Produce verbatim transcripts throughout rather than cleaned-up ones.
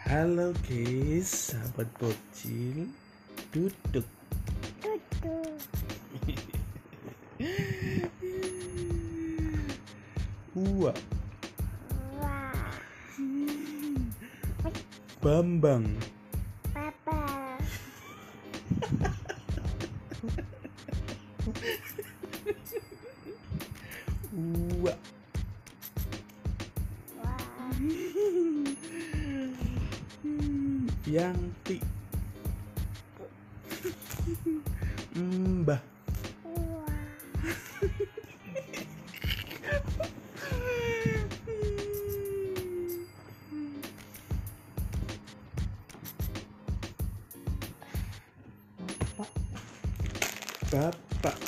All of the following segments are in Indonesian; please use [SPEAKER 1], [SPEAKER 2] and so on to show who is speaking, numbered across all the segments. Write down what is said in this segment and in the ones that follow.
[SPEAKER 1] Halo guys, sahabat bocil, duduk.
[SPEAKER 2] Duduk.
[SPEAKER 1] Uwa.
[SPEAKER 2] Wah.
[SPEAKER 1] Bambang.
[SPEAKER 2] Papa.
[SPEAKER 1] Uwa.
[SPEAKER 2] Wah.
[SPEAKER 1] Yanti. Mbah.
[SPEAKER 2] Wah.
[SPEAKER 1] Bapak.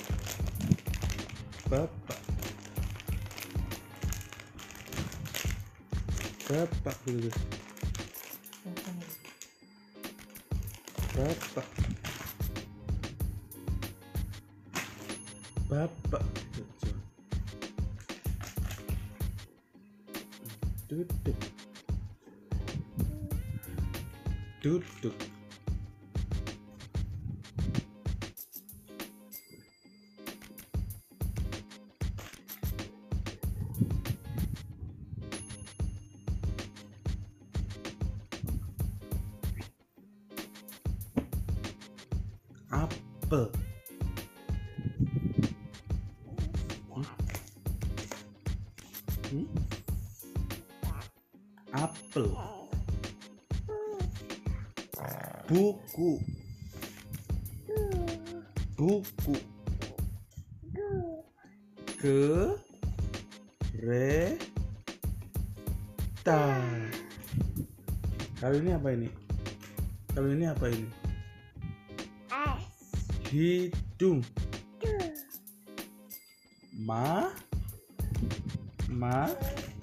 [SPEAKER 1] Bapak. Bapak dulu. Bapak. Bapak. Duduk. Duduk. Apel. Hmm? Hmm? Apel. Buku. Buku. Kereta. Kali ini apa ini? Kali ini apa ini? Hidung. Ma. Ma.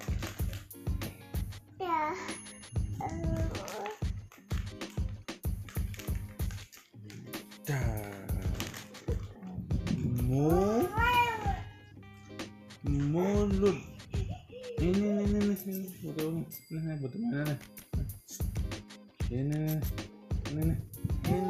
[SPEAKER 2] Ya.
[SPEAKER 1] Da. Mu. Mulut. Ini ini ini ini betul. Ini betul mana nih? Ini ini ini ini.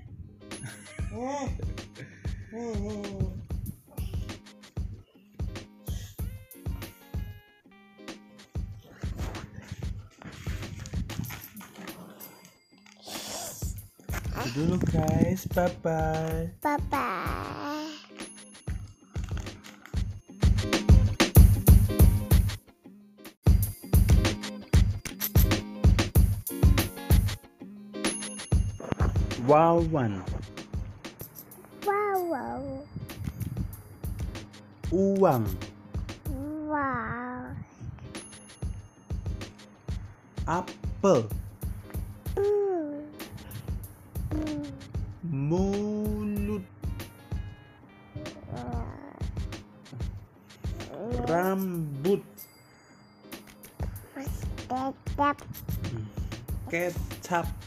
[SPEAKER 1] Dulu guys, bye bye.
[SPEAKER 2] Papa.
[SPEAKER 1] Wawan.
[SPEAKER 2] Wow, wow.
[SPEAKER 1] Uang.
[SPEAKER 2] Wow.
[SPEAKER 1] Apel.
[SPEAKER 2] Mm. Mm.
[SPEAKER 1] Mulut. Rambut.
[SPEAKER 2] Tetap.
[SPEAKER 1] Kecap.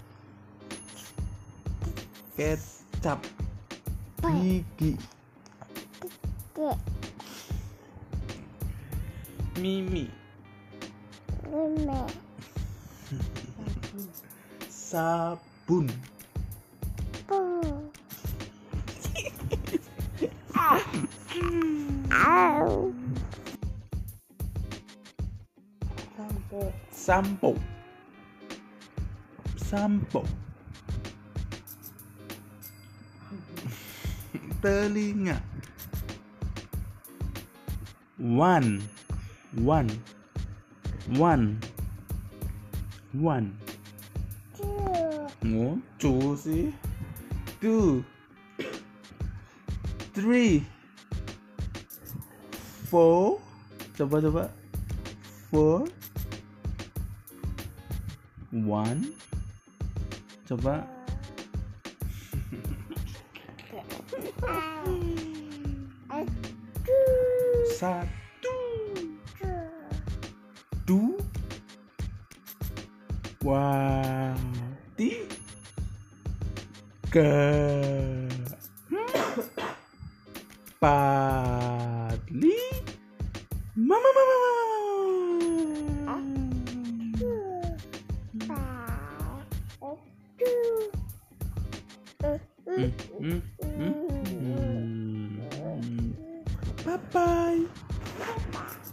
[SPEAKER 1] Kecap. Gigi.
[SPEAKER 2] Dek.
[SPEAKER 1] Mimi.
[SPEAKER 2] Meme.
[SPEAKER 1] Sabun.
[SPEAKER 2] Pung. Au.
[SPEAKER 1] Sampo. Sampo. Telinga. One. One. One. One.
[SPEAKER 2] Two.
[SPEAKER 1] Oh, two sih. Two. Three. Four. Coba coba. Four. One. Coba. Satu. Dua. Wah. Tiga. Empat. Lima. Mama mama mama.
[SPEAKER 2] Papa.
[SPEAKER 1] Hmm, hmm, hmm, hmm. Bye bye.